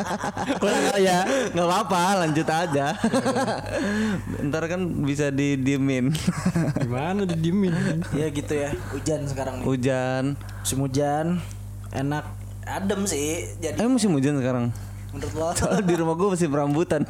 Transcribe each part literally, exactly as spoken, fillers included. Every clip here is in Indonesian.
Kurang kali ya. Nggak apa-apa, lanjut aja. Ntar kan bisa didiemin. Gimana didiemin? Ya gitu ya. Hujan sekarang nih. Hujan. Musim hujan. Enak. Adem sih. Jadi Eh musim hujan sekarang. menurut lo? Soalnya di rumah gue masih berambutan.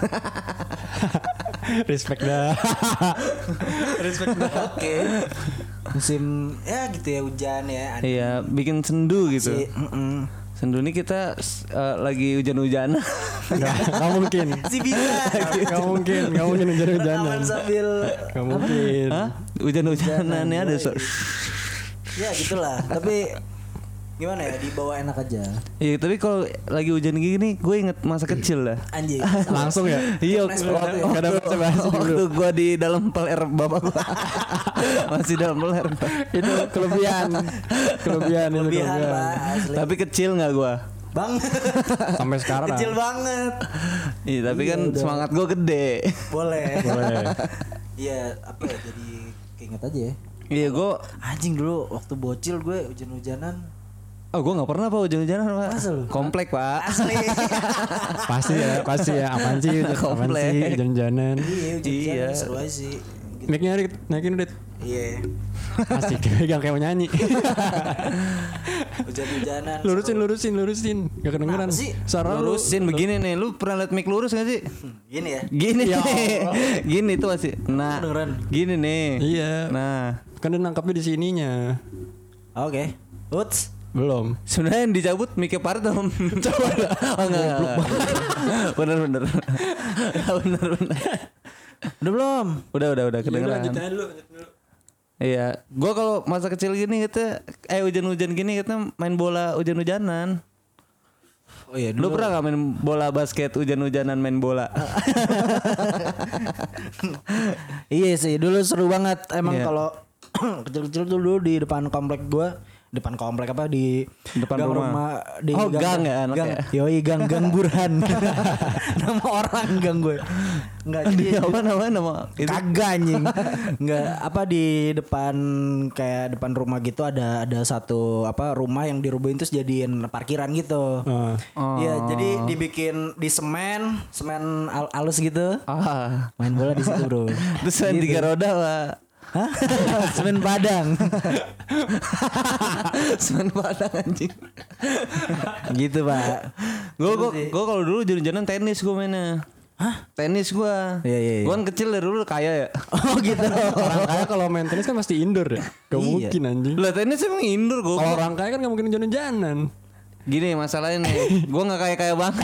Respect dah. Respect dah. Oke. Musim ya gitu ya hujan ya. Adem. Iya, bikin sendu gitu. Si, mm-mm. Sendu ini kita uh, lagi hujan-hujanan. Gak, gak mungkin. Si bisa. Gak mungkin. Gak mungkin hujan-hujanan. Rekaman sambil Gak mungkin. Hah? Hujan-hujanan ya ada so- ya gitulah. Tapi gimana ya, dibawa enak aja. Iya, tapi kalau lagi hujan gini gue inget masa kecil lah. Anjing. Langsung ya. Iya, Nice waktu, banget ya. Gak ada basa-basi dulu. waktu gue di dalam peler bapak gue. Masih dalam peler. Itu kelebihan. Kelebihan itu Kelebihan kelebihan. Pak, asli. Tapi kecil nggak gue? Bang. Sampai sekarang. Kecil banget. Iya, tapi Iya, kan udah. semangat gue gede. Boleh. Boleh. Iya, apa ya, jadi keinget aja ya. Iya, gue. Anjing dulu waktu bocil gue hujan-hujanan. Oh, gue nggak pernah pak hujan-hujanan pak. Masa lu? Komplek pak. Asli. Pasti ya. Pasti ya. Apaan sih? Apaan Komplek. sih? Hujan-hujanan. Iya, hujan-hujanan Iya. seru aja sih. Gitu. Mic-nya Rit, naikin Rit. Iya. Asik. Pegang kayak mau nyanyi. Hujan-hujanan. Lurusin, lurusin, lurusin. Gak kedengeran. Kenapa sih? Suara lu. Lurusin begini nih. Lu pernah liat mic lurus gak sih? Hmm, Gini ya. Gini Ya nih. Allah. Gini tuh masih. Nah. Kedengeran. Gini nih. Iya. Nah. Kan dia nangkapnya di sininya. Oke. Uts. Belum. Sebenarnya yang dicabut mic Partom. Coba. Oh enggak. enggak. Bener bener. bener bener. Udah belum? Udah udah udah kedengeran. Lanjut aja dulu. Lanjut dulu. Iya, gua kalau masa kecil gini kita eh hujan-hujan gini kita main bola hujan-hujanan. Oh iya Lu pernah gak main bola basket hujan-hujanan main bola? Iya sih, dulu seru banget. Emang Iya. kalau kecil-kecil tuh dulu di depan komplek gua, depan komplek apa di Depan gang rumah. di Oh, gang ya anaknya? gang, yoi gang gang Burhan. Nama orang gang gue. Enggak Di jadi apa namanya nama itu? kagak anjing. Enggak apa di depan kayak depan rumah gitu ada ada satu apa rumah yang dirubuhin terus jadiin parkiran gitu. Ah. Iya, jadi dibikin di semen, semen al- halus gitu. Ah. Main bola di situ, Bro. Terus main tiga roda, Pak. Hah? Semen Padang. Semen Padang anjing. Gitu, Pak. Gue gue gue kalau dulu hujan-hujanan tenis gue mainnya. Hah? Tenis gue. Iya, iya, iya. Gue kan kecil dari dulu kaya ya. Oh, gitu. Orang kaya kalau main tenis kan pasti indoor ya. Gak Iya. mungkin anjing. Lah tenis emang indoor gue. Kalau orang kaya kan gak mungkin hujan-hujanan. Gini masalahnya nih, gue nggak kaya kaya banget.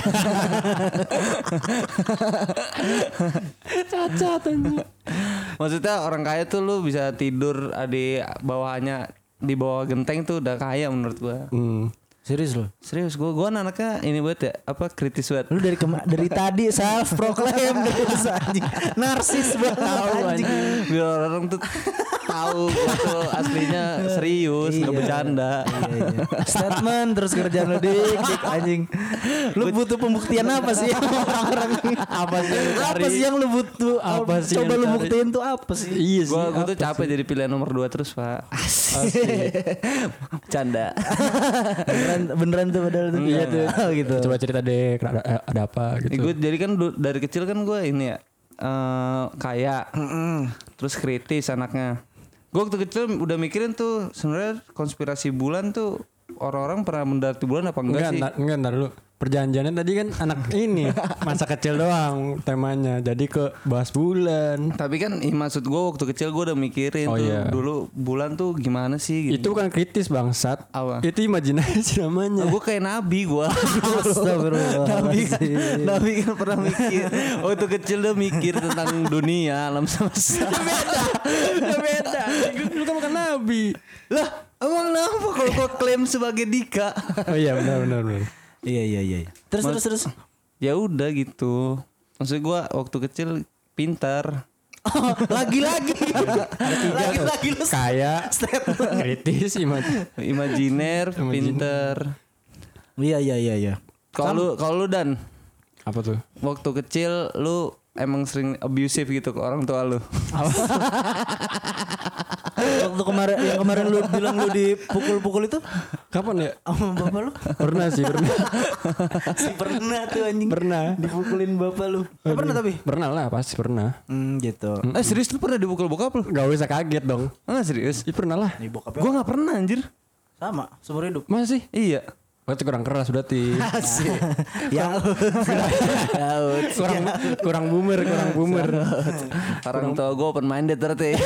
Cacat anjing. Maksudnya orang kaya tuh lu bisa tidur di bawahnya di bawah genteng tuh udah kaya menurut gue. Hmm. Serius lo? Serius gue gue anaknya ini buat ya apa kritis banget. Lu dari kema- dari tadi self proclaim terus anjing. Narsis banget anjing. Biar orang tuh tahu gue tuh aslinya serius nggak Iya. bercanda. Iya, iya. Statement terus kerjaan lu dik, dik anjing. Lu butuh pembuktian apa sih orang-orang ini? Apa sih yang lu Apa cari? sih yang lu butuh? Apa sih Coba yang lu lu cari? buktiin tuh apa sih? Iya sih. Gue gue tuh apa capek sih? jadi pilihan nomor dua terus pak. Asik. Bercanda. beneran beneran tuh padahal tuh. Iya tuh. Oh, gitu. Coba cerita deh ada, ada apa gitu. Gue jadi kan du- dari kecil kan gue ini ya eh, kaya, Mm-mm. terus kritis anaknya. Gue waktu kecil udah mikirin tuh sebenarnya konspirasi bulan tuh orang-orang pernah mendarat di bulan apa enggak, Enggak, sih? enggak, enggak, ntar dulu. Perjanjiannya tadi kan anak ini masa kecil doang temanya. Jadi ke bahas bulan. Tapi kan ih, maksud gue waktu kecil gue udah mikirin Oh, tuh iya. dulu bulan tuh gimana sih? Gitu. Itu bukan kritis bangsat. Apa? Itu imajinasi namanya. gue kayak nabi gue. Astagfirullah. nabi kan, nabi kan pernah mikir. Waktu kecil udah mikir tentang dunia alam semesta. beda. Udah beda. Lu kan bukan nabi. Lah, emang kenapa kalau gue klaim sebagai Dika? Oh iya benar benar benar. Iya iya iya. Terus Mas- terus terus. Ya udah gitu. Maksud gue waktu kecil pintar. Oh, lagi-lagi. Lagi-lagi lu Kayak kritis imaj. Imajiner, Imagine. pintar. Iya iya iya iya. Kalau lu kalau lu Dan Apa tuh? waktu kecil lu emang sering abusive gitu ke orang tua lu. Waktu kemarin yang kemarin lu bilang lu dipukul-pukul itu Kapan ya? sama bapak lu? Pernah sih, pernah. Si pernah tuh anjing. Pernah. Dipukulin bapak lu. Eh, pernah tapi? Pernah lah, pasti pernah. Hmm, gitu. Eh serius lu pernah dipukul bokap lu? Gak usah kaget dong. Enggak serius? Iya pernah lah. Nih bokapnya Gue nggak pernah anjir. sama seumur hidup. Masih? Iya. Berarti kurang keras berarti. Asik. Ya. Yaut. kurang kurang boomer, kurang boomer. Orang tua gue open minded berarti.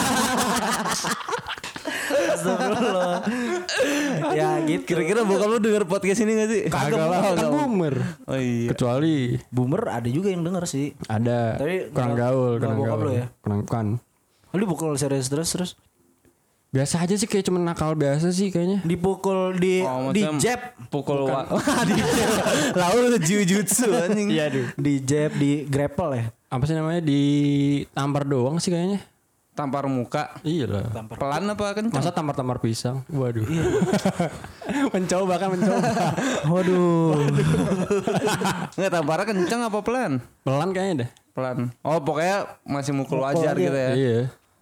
Astagfirullah. Ya gitu. Kira-kira bokap lu denger podcast ini gak sih? Kagak lah, kan boomer. Oh iya. Kecuali Boomer ada juga yang denger sih. ada Tapi kurang nggak- gaul, nggak kurang bokap gaul. lu ya? Kurang kan. Lu pukul serius terus terus Biasa aja sih, kayak cuma nakal biasa sih kayaknya. dipukul di Oh, di maksudnya jab Pukul wa- di jab. Lalu jujutsu anjing. Iya, aduh. di jab di grapple ya. Apa sih namanya, ditampar doang sih kayaknya. Tampar muka. Iya lah. Pelan apa kencang? Masa tampar-tampar pisang? Waduh. mencoba kan mencoba. Waduh. Enggak tamparnya kencang apa pelan? Pelan kayaknya deh. Pelan. Oh pokoknya masih mukul wajar gitu ya. Iya.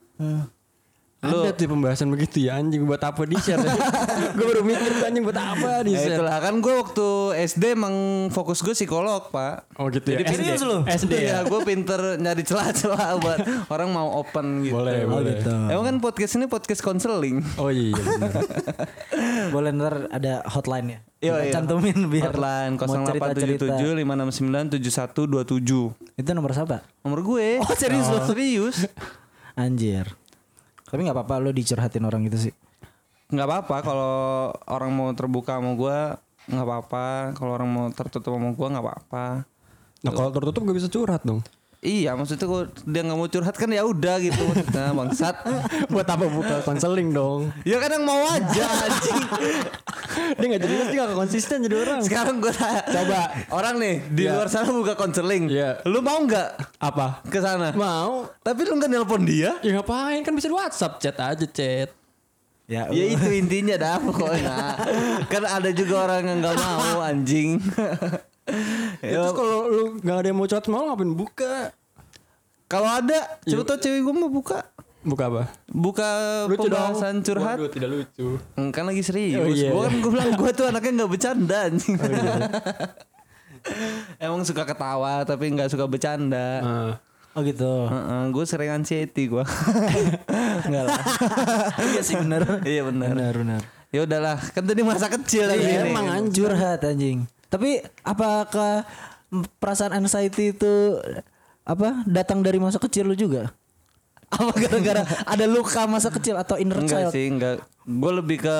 Lu- Ada tuh pembahasan begitu ya, anjing buat apa di share? Gue baru mikir tuh anjing buat apa di Ya share. itulah kan gue waktu S D emang fokus gue psikolog pak. Oh gitu ya. Jadi serius lu? S D ya ya. gue pinter nyari celah-celah buat orang mau open gitu. Boleh, Oh boleh. gitu. Emang kan podcast ini podcast konseling. Oh iya benar. Boleh ntar ada hotline ya. Iya, Kita iya. cantumin biar Hotline mau nol delapan tujuh cerita-cerita. tujuh lima enam sembilan tujuh satu dua tujuh. Itu nomor siapa? Nomor gue. Oh, serius lu? Serius. Anjir. Tapi nggak apa-apa lu dicurhatin orang gitu sih. Nggak apa-apa kalau orang mau terbuka sama gue nggak apa-apa. Kalau orang mau tertutup sama gue nggak apa-apa. Nah kalau tertutup gak bisa curhat dong. Iya maksudnya kalau dia nggak mau curhat kan ya udah gitu maksudnya bangsat. Buat apa buka konseling dong? Ya kadang mau aja anjing. Dia gak jelas, dia gak konsisten jadi orang. Sekarang gue tanya. Coba. Orang nih di Ya. luar sana buka konseling. Iya. Lu mau nggak Apa? ke sana? Mau? Tapi lu nggak nelpon dia? Ya ngapain, kan bisa di WhatsApp, chat aja chat. Ya, Ya itu intinya dah pokoknya. Kan ada juga orang yang nggak mau anjing. Ya, terus kalau lu gak ada yang mau curhat mau ngapain buka? Kalau ada, coba tau cewek gue mau buka. Buka apa? Buka Lucu pembahasan dong. curhat. Waduh, tidak lucu. Kan lagi serius. Oh, iya, Gue kan iya. gue bilang gue tuh anaknya nggak bercanda anjing. Emang suka ketawa tapi nggak suka bercanda. Ah. Oh gitu. Gue sering anxiety gue. Enggak lah. Iya sih benar. Iya benar. Benar benar. Ya udahlah, kan tadi masa kecil ya Iya, ini. emang anjir curhat anjing. Tapi apakah perasaan anxiety itu apa datang dari masa kecil lu juga? Apa gara-gara ada luka masa kecil atau inner Enggak child? sih, enggak. Gue lebih ke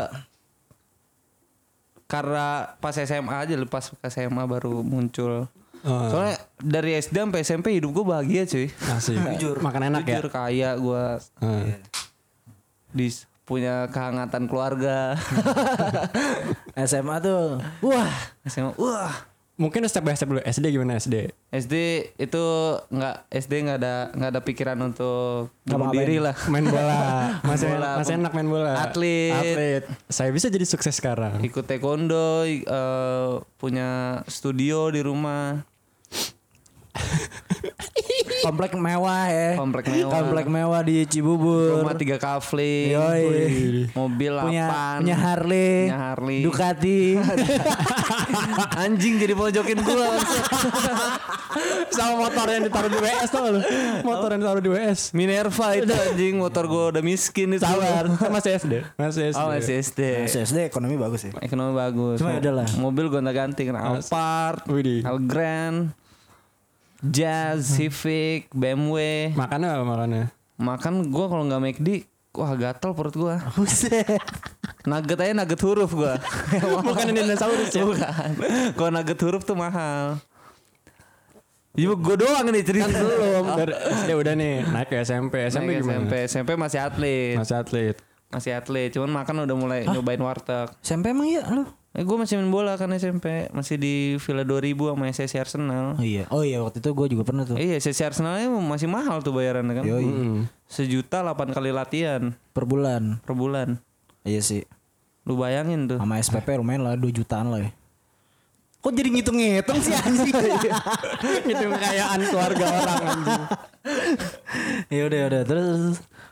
karena pas S M A aja, pas S M A baru muncul. Ah. Soalnya dari S D sampai S M P hidup gue bahagia cuy. Asik. Jujur. Makan enak Jujur kaya gue ya. Ah. di punya kehangatan keluarga. S M A tuh. Wah, S M A, wah. Mungkin step by step dulu. S D gimana S D? S D itu nggak S D nggak ada nggak ada pikiran untuk bunuh Ngapa-ngapain? diri lah. Main bola. Masih Bola, masih pem- enak main bola. atlet. Atlet. Saya bisa jadi sukses sekarang. Ikut taekwondo, i- eh, punya studio di rumah. komplek mewah ya. Komplek mewah. Komplek mewah di Cibubur. Rumah tiga kafling, Yoi. mobil Punya delapan, punya Harley, punya Harley. Ducati. Anjing jadi mojokin gua. Sama motor yang ditaruh di W S tau lu? Motor yang ditaruh di W S. Minerva itu anjing, motor gua udah miskin itu. Sabar. Kan masih S D. Masih S D. Oh masih S D. S S D ekonomi bagus ya. Ekonomi bagus. Cuma ya udahlah. Mobil gonta-ganti kan Alphard, Widih. Algrand, Jazz, Civic, B M W. Makannya apa makannya? Makan gua kalau nggak McD, wah gatel perut gua. Buset. Nugget aja nugget huruf gua. Bukan ini dinosaurus ya? Bukan. Kalau nugget huruf tuh mahal. Ya gue doang nih cerita. Kan belum. Dari S D udah nih. Naik ke S M P. S M P Naik gimana? S M P, S M P masih atlet. Masih atlet. Masih atlet, cuman makan udah mulai nyobain warteg. S M P emang iya lu? Eh gue masih main bola kan S M P, masih di Villa dua ribu sama S S C Arsenal. Oh iya. Oh iya waktu itu gue juga pernah tuh. Iya, S S C Arsenalnya masih mahal tuh bayarannya kan. Yoi. Hmm. Sejuta delapan kali latihan Per bulan. per bulan. Iya sih. Lu bayangin tuh. Sama S P P lumayan lah dua jutaan lah ya. Kok jadi ngitung-ngitung sih anjing? Itu kekayaan keluarga orang anjing. Ya udah ya udah terus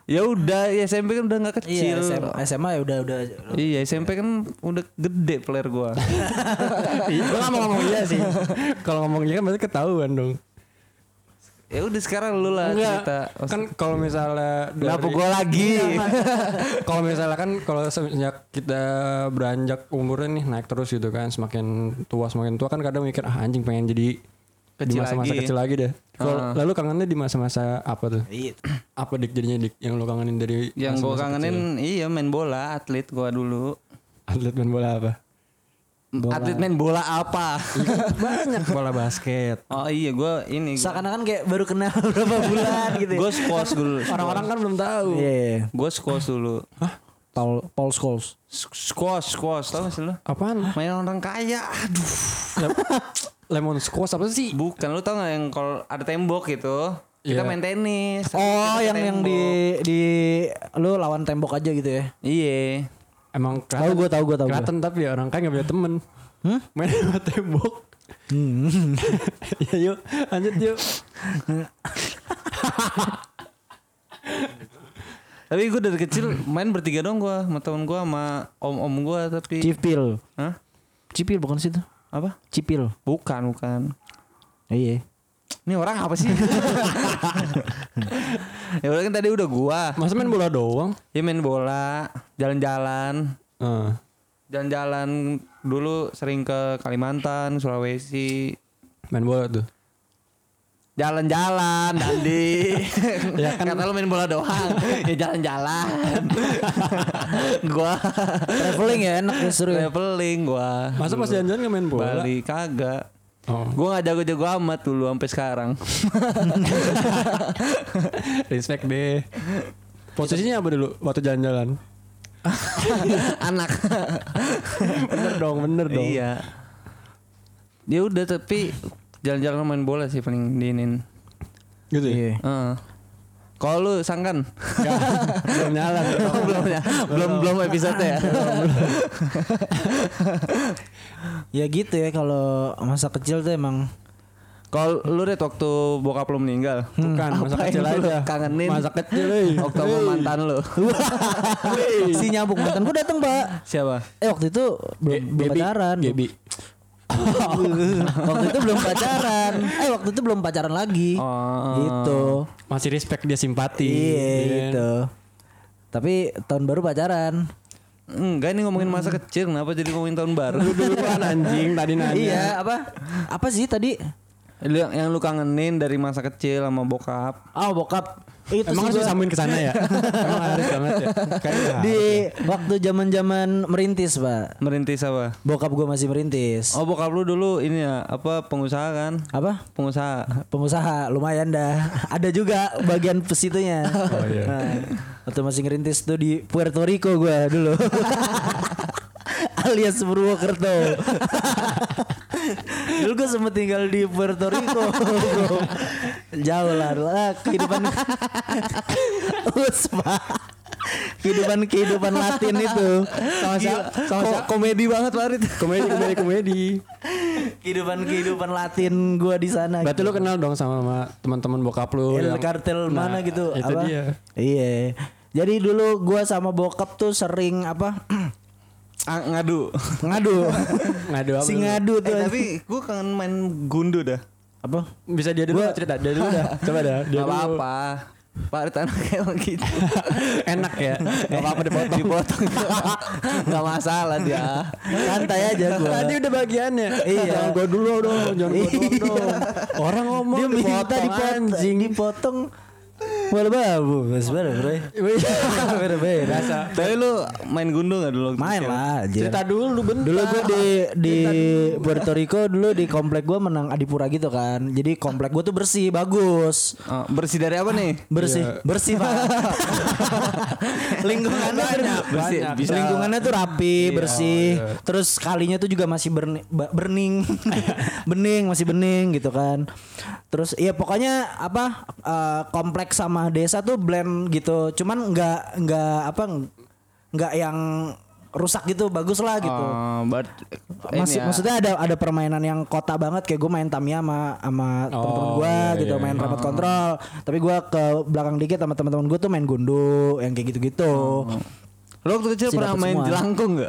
Ya udah, ya S M P kan udah nggak Iya, kecil. S M A ya udah udah. Iya, S M P kan udah gede player gua. Gue gak mau ngomong iya sih. Kalau ngomong iya kan berarti ketahuan dong. Ya udah sekarang lu lah cerita. Kan kalau misalnya Kenapa dari- gua lagi? Kalau misalnya kan kalau semenjak kita beranjak umurnya nih naik terus gitu kan, semakin tua semakin tua kan kadang mikir ah anjing pengen jadi di Kecil masa-masa lagi. kecil lagi deh. Kalau Ah. lalu kangennya di masa-masa apa tuh? Iya. Apa dik jadinya dik yang lo kangenin dari Yang gua masa-masa kangenin iya main bola, atlet gua dulu. kecil? Atlet main bola apa? Atlet main bola apa? Banyak bola basket. Oh iya gua ini. Seakan-akan kayak baru kenal berapa bulan gitu. Gue squash dulu. Orang-orang kan belum tahu. Iya. Gue squash dulu. Paul Paul Scholes. Squash, squash, tau gak sih lu? Apaan? Main orang kaya, aduh. Lemon squash apa sih? Bukan, lu tau gak yang kalau ada tembok gitu, kita Iya. main tenis. Oh, Kita yang yang tembok. di di lu lawan tembok aja gitu ya. Iya. Emang Tahu gua, tahu gua, tahu gua. kelihatan tapi ya orang kaya gak punya temen. Hmm? Main sama tembok. Hmm. Ya yuk, lanjut yuk. Tapi gue dari kecil main bertiga dong gue, sama temen gue, sama om-om gue tapi. Cipil. Hah? Cipil bukan situ. Apa? Cipil. Bukan, bukan. Iya. Ini orang apa sih? Ya udah kan tadi udah gua. Masa main bola doang? Ya main bola, jalan-jalan. Eh. Jalan-jalan dulu sering ke Kalimantan, Sulawesi. Main bola tuh. Jalan-jalan, Dandi. Ya kan- Kata lu main bola doang. Ya jalan-jalan. Gua Traveling ya enak ya seru ya. traveling gua. Masa pas jalan-jalan gak main bola? Bali kagak. Oh. Gua gak jago-jago amat dulu sampai sekarang. Respect deh. Posisinya apa dulu waktu jalan-jalan? Anak. Bener dong, bener dong. Iya. Ya udah tapi jalan-jalan main bola sih paling diinin. Gitu ya? Iya. Heeh. Kalau lu sangkan? Nggak, belum nyala. belum ya. Belum belum episode ya. Ya gitu ya kalau masa kecil tuh emang Kalau lu Red waktu bokap lu meninggal. Bukan, masa Apa kecil yang lu aja. kangenin? Masa kecil, eh. Waktu sama mantan lu. si nyambung mantan gue datang pak. Siapa? Eh waktu itu belum, Ge- belum Gebi. pacaran. Gebi. Waktu itu belum pacaran. Eh waktu itu belum pacaran lagi. Oh. Gitu. Masih respect dia simpati. Iya kan? gitu. Tapi tahun baru pacaran. Enggak, ini ngomongin masa kecil, kenapa jadi ngomongin tahun baru? Dulu kan anjing tadi nanya. Iya apa? Apa sih tadi? Lu yang, yang lu kangenin dari masa kecil sama bokap. Oh bokap. Itu Emang sih harus gua- disambungin ke sana ya? Emang harus banget ya? Kayaknya di waktu zaman-zaman merintis pak. Merintis apa? Bokap gue masih merintis. Oh, bokap lu dulu ini ya, apa pengusaha kan? Apa? Pengusaha. Pengusaha lumayan dah. Ada juga bagian pesitunya. Oh, iya. Nah, waktu masih ngerintis tuh di Puerto Rico gue dulu. Alias Purwokerto. Dulu gue sempet tinggal di Puerto Rico. Jauh lah, lah kehidupan. Uspa. Kehidupan kehidupan Latin itu. Sama siapa? Sama Ko- siapa? komedi banget Farid. Komedi, komedi, komedi. Kehidupan kehidupan Latin gue di sana. Berarti lu kenal dong sama, sama teman-teman bokap lu El yang- kartel Nah, mana gitu itu apa? dia. Iya. Jadi dulu gua sama bokap tuh sering apa? Ah, ngadu. ngadu. Ngadu apa? si lu? ngadu Eh, tuh. tapi gue kangen main gundu dah. apa? Bisa dia dulu Gua- cerita, dia dulu dah. Coba dah. Dia Gak dulu. apa-apa. Farid anaknya emang gitu. Enak ya. Gak apa-apa dipotong. Dipotong. Gak masalah dia. Santai aja gua. Tadi udah bagiannya. Iya. Jangan gua dulu dong, jangan gua doang dong. Orang ngomong Dia minta dipotong dipotong, anjing. dipotong. Wala babu, sebenarnya bre. Beda beda. Tapi lu main gundu gak dulu? waktu Main kecil? lah aja. Cerita dulu bentar. Dulu gue di di Puerto Rico dulu di komplek gue menang Adipura gitu kan. Jadi komplek gue tuh bersih, bagus. Oh, bersih dari apa nih? Bersih, Iya. bersih pak. Lingkungannya Banyak, tuh- bersih. banyak. Bisa- lingkungannya tuh rapi, Iya, bersih. iya. Terus kalinya tuh juga masih berni, ba- bening, bening masih bening gitu kan. Terus ya pokoknya apa eh, kompleks sama desa tuh blend gitu. Cuman nggak nggak apa nggak yang rusak gitu, bagus lah gitu. Oh, but Masih ya. maksudnya ada ada permainan yang kota banget kayak gue main Tamiya sama sama Oh, teman-teman gue iya, gitu iya, main iya. remote control. Tapi gue ke belakang dikit sama teman-teman gue tuh main gundu yang kayak gitu-gitu. Lo waktu kecil Si pernah dapet main semua. jelangkung gak?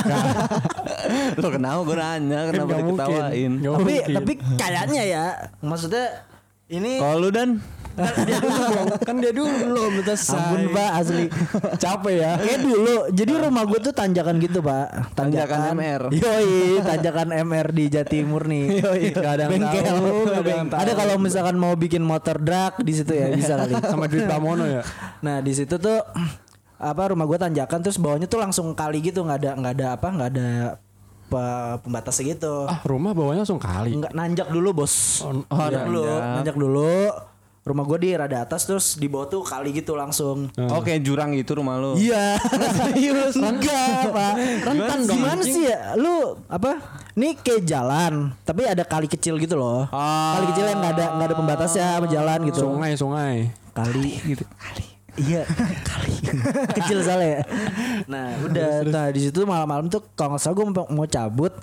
Lo kenapa gue nanya kenapa Nggak mungkin. diketawain? Nggak tapi mungkin. tapi kayaknya ya maksudnya ini Kalau lu dan dia dulu dong. Kan dia dulu belum selesai. ampun Pak asli Capek ya. kayak dulu jadi rumah gue tuh tanjakan gitu Pak Tanjakan M R. yoi tanjakan M R di Jatimur nih yoi Nggak ada yang bengkel tahu, nggak ada Beng- yang tahu. ada kalau misalkan mau bikin motor drag di situ ya bisa kali Sama duit Pramono ya. nah di situ tuh apa rumah gue tanjakan terus bawahnya tuh langsung kali gitu nggak ada nggak ada apa nggak ada pe- pembatasnya gitu Ah, rumah bawahnya langsung kali. nggak nanjak dulu bos Oh, nanjak iya, dulu nanjak. nanjak dulu rumah gue di rada atas terus di bawah tuh kali gitu langsung Oke jurang gitu rumah lu. iya serius enggak pak Rentan dong, gimana anjing. sih ya lu apa ini kayak jalan tapi ada kali kecil gitu loh Ah. kali kecil yang nggak ada nggak ada pembatasnya sama jalan gitu Sungai, sungai. kali gitu kali iya kali kecil soalnya ya. Nah udah nah di situ malam-malam tuh kalau nggak salah gue mau, mau cabut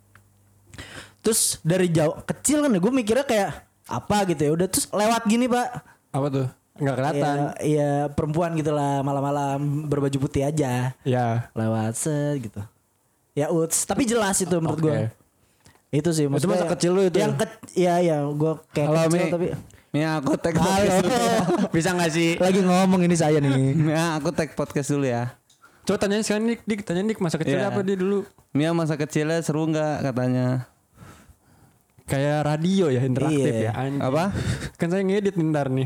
terus dari jauh kecil kan gue mikirnya kayak apa gitu ya udah terus lewat gini pak Apa tuh? Enggak kelihatan. Iya iya, perempuan gitu lah malam-malam berbaju putih aja Ya. lewat set gitu ya uts tapi jelas itu menurut Oke. gue itu sih maksudnya masa kecil lu itu yang ke ya ya gue kayak Halo kecil Mi. tapi Mi aku tag halo podcast dulu. Bisa gak sih? lagi ngomong ini saya nih Mia aku tag podcast dulu ya. Coba tanyain sekarang Dik, Dik, tanya Dik masa kecilnya Iya. apa dia dulu? Mia masa kecilnya seru nggak katanya? Kayak radio ya, interaktif Iya. ya. Anjing. Apa? Kan saya ngedit ntar nih.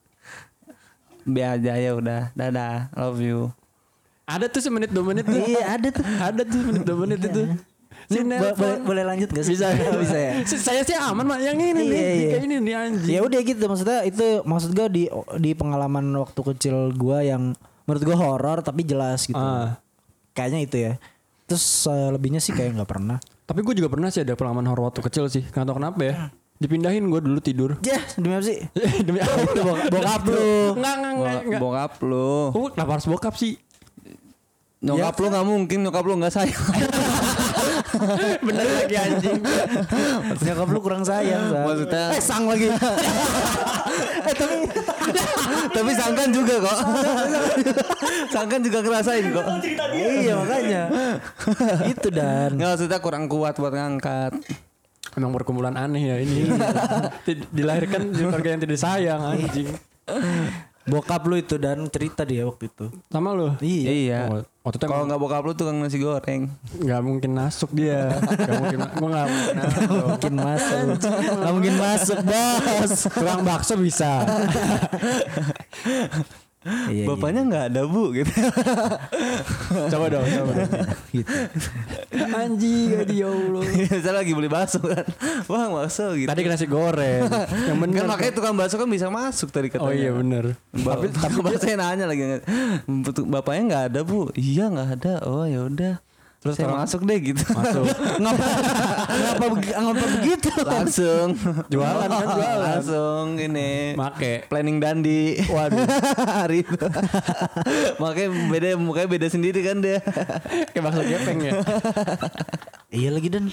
Be aja ya udah. Dadah, love you. Ada tuh semenit dua menit tuh. iya ada tuh Ada tuh semenit dua menit itu. Si Bo- nelpon. boleh, boleh lanjut gak sih? Bisa bisa ya. Si- Saya sih aman mak yang ini nih. Iya, iya. Kayak ini nih anjing. Ya udah gitu maksudnya itu maksud gue di di pengalaman waktu kecil gue yang menurut gue horor tapi jelas gitu. Ah. Kayaknya itu ya. Terus selebihnya sih kayak nggak pernah. Tapi gue juga pernah sih ada pengalaman horor waktu kecil sih. Gak tau kenapa ya. Dipindahin gue dulu tidur. Ya demi apa sih? Demi apa? Bok- bokap lu. Enggak, enggak, enggak. Bo- enggak. Bokap lu. Oh, kenapa harus bokap sih? Nyokap lu nggak mungkin nyokap lu nggak sayang. Bener lagi anjing. Nyokap lu kurang sayang. Sang. Maksudnya Eh sang lagi. eh tapi tapi Sangkan juga kok. Sangkan juga ngerasain kok. iya makanya. Itu dan. Nggak maksudnya kurang kuat buat ngangkat. Emang perkumpulan aneh ya ini. Di- Dilahirkan di keluarga yang tidak sayang anjing. Bokap lu itu dan cerita dia waktu itu. Sama lu? Iya. Iya. Oh, waktu itu Kalau emang nggak bokap lu tukang nasi goreng. nggak mungkin masuk dia. Gak mungkin. Gue nggak mungkin masuk. Mungkin masuk. Gak mungkin masuk bos. Tukang bakso bisa. Iya, Bapaknya nggak ada bu gitu. Coba dong. Coba dong. gitu. Anjing gak dia Allah. Saya lagi beli bakso kan. Bang bakso gitu. Tadi nasi goreng. Yang bener. Kan makanya tukang bakso kan bisa masuk tadi katanya. Oh iya bener. Tapi tapi saya nanya lagi bapaknya nggak ada bu. Iya nggak ada. Oh ya udah. Terus Saya orang- masuk deh gitu. Masuk. Ngapa ngapa, begi- ngapa begitu? Langsung Jualan kan jualan. Langsung ini Make. planning dandi. Waduh. Hari itu. Makanya beda mukanya beda sendiri kan dia. Kayak bakso gepeng ya. Iya lagi dan.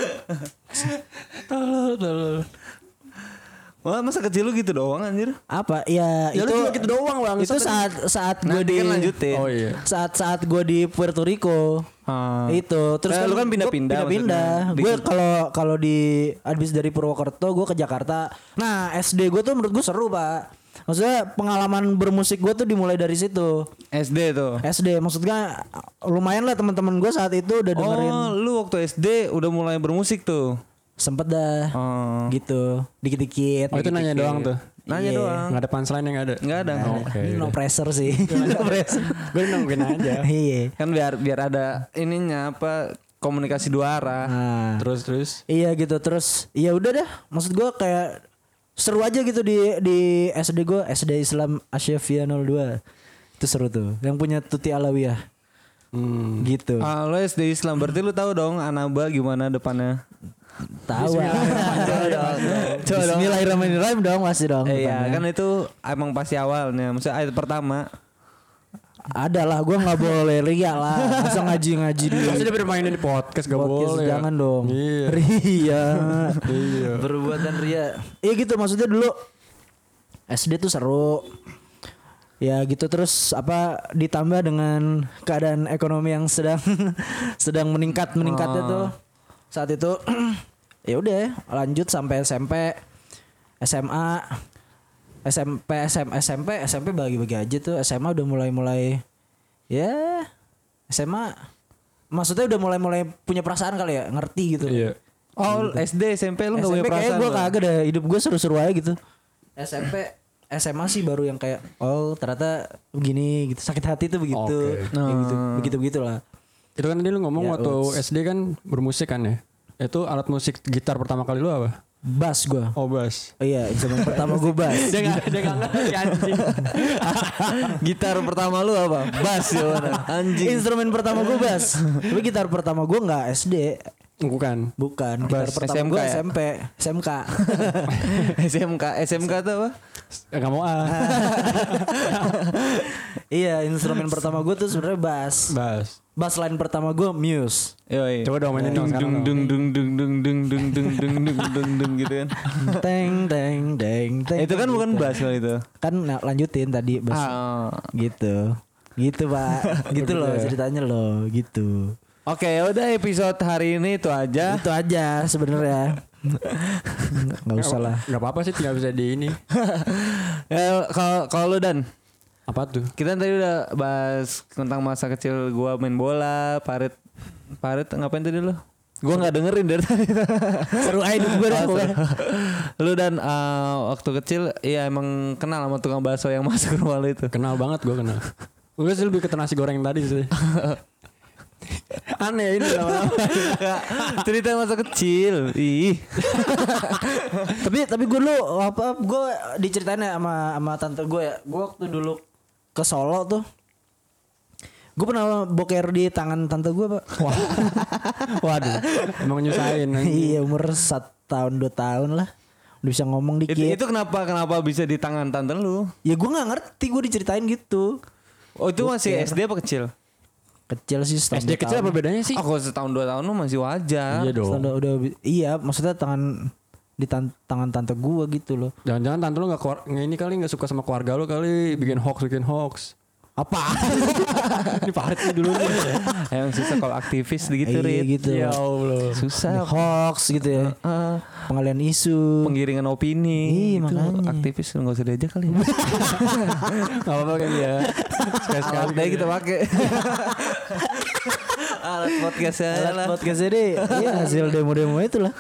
Tolol, tolol. Wah masa kecil lu gitu doang anjir. Apa? Ya, Ya itu lu juga gitu doang bang. itu saat saat gue Nanti di kan lanjutin. Oh iya. saat saat gue di Puerto Rico. Ah. Itu terus Nah, lu kan gua pindah-pindah pindah-pindah. maksudnya. Gue Di- kalau kalau di habis dari Purwokerto gue ke Jakarta. Nah S D gue tuh menurut gue seru pak. Maksudnya pengalaman bermusik gue tuh dimulai dari situ. S D tuh. S D maksudnya lumayan lah teman-teman gue saat itu udah dengerin. Oh, lu waktu S D udah mulai bermusik tuh. Sempet dah Oh. gitu dikit-dikit. Oh itu nanya doang tuh. Nanya Iya. doang. Nggak ada punchline yang ada. Enggak ada. Oh, Oke. No pressure sih. No pressure. Gue nungguin aja. Iya. Kan biar biar ada ininya apa komunikasi dua arah. Nah, Terus terus. iya gitu terus. Ya udah dah. Maksud gue kayak seru aja gitu di di S D gue S D Islam Asyafia nol dua. Itu seru tuh. Yang punya Tuti Alawiyah. Hmm. Gitu. Ah, lu S D Islam berarti lu tahu dong Anaba gimana depannya? Tahu. Bismillahirrahmanirrahim dong masih dong. Eh, iya, depannya. kan itu emang pasti awalnya. Maksudnya ayat pertama. Ada lah, gue nggak boleh ria lah. Masa ngaji-ngaji di Masa dia bermainin di podcast gak podcast, boleh. jangan dong. Iya. Ria. Iya. Perbuatan ria. Iya gitu maksudnya dulu S D tuh seru. Ya gitu terus apa ditambah dengan keadaan ekonomi yang sedang sedang meningkat meningkatnya tuh saat itu ya udah lanjut sampai S M P, S M A, S M P, S M S M P, S M P bagi-bagi aja tuh. S M A udah mulai-mulai ya S M A maksudnya udah mulai-mulai punya perasaan kali ya, ngerti gitu. Iya. Oh, S D, S M P lu enggak punya perasaan. S M P kayak gue kagak dah, hidup gue seru-seru aja gitu. S M P S M A sih baru yang kayak oh ternyata begini gitu, sakit hati tuh begitu. Oke. Kayak gitu, begitu-begitulah. Itu kan tadi lu ngomong Ya, waktu uts. S D kan bermusik kan ya. Itu alat musik gitar pertama kali lu apa? Bass gue. Oh bass. Oh iya, instrumen pertama gue bass. Dia gak, dia gak ngerti anjing. Gitar pertama lu apa? Bass ya mana? Anjing. Instrumen pertama gue bass. Tapi gitar pertama gue nggak S D. Bukan. Bukan. Gitar Bass. pertama S M K gue ya? S M P, S M K. S M K, S M K tuh apa? Eh, gak mau ah. Iya, instrumen pertama gue tuh sebenarnya bass. Bass. Bass line pertama gue Muse. Yoi. Coba dong mainin dong Dung sekarang dung dong. dung dung dung dung dung dung dung dung dung dung gitu kan. Teng teng teng teng. Itu kan bukan bass kalau itu. Kan nah, lanjutin tadi bass. Ah. Gitu. Gitu, Pak. Gitu loh ceritanya loh, gitu. Oke, ya udah episode hari ini itu aja. Itu aja sebenarnya. Enggak usah lah. Gak apa-apa sih, tinggal bisa di ini. Ya, kalau kalau lu Dan, Apa tuh? kita tadi udah bahas tentang masa kecil gua main bola, Parit Parit ngapain tadi lu? Gua nggak dengerin dari tadi. Seru aja hidup gue dah Oh, pokoknya. seru. Lu Dan uh, waktu kecil iya emang kenal sama tukang bakso yang masuk ke rumah lu itu. Kenal banget gue kenal. Gue sih lebih ke nasi goreng tadi sih. Aneh ini lama-lama. Cerita masa kecil. Ih. tapi tapi gue dulu apa gue diceritain ya sama sama tante gue ya. Gue waktu dulu ke Solo tuh gue pernah boker di tangan tante gue, Pak. Wah. Waduh. Emang nyusahin. Iya, umur satu tahun dua tahun lah. Udah bisa ngomong dikit. Itu, itu kenapa kenapa bisa di tangan tante lu? Ya gue nggak ngerti, gue diceritain gitu. Oh, itu masih S D apa kecil? Kecil sih setahun S D dua kecil tahun. apa bedanya sih? Oh, kalau setahun dua tahun lu masih wajar. Iya dong. Setahun udah, udah iya, maksudnya tangan di tan- tangan tante gue gitu loh. Jangan-jangan tante lu gak, keluar, nggak ini kali gak suka sama keluarga lu kali. Bikin hoax, bikin hoax. Apa? Ini Farid nih dulu nih. Emang susah kalau aktivis gitu, Iya Rit. gitu. Ya Allah. Susah. Hoax gitu ya. Uh, Pengalian isu. penggiringan opini. Iya, Itu makanya. aktivis nggak usah diajak kali. Gak apa-apa kan ya. Sekali-sekali Alat deh kita pakai. Alat podcastnya Alat lah. podcast ini iya hasil demo-demo itulah.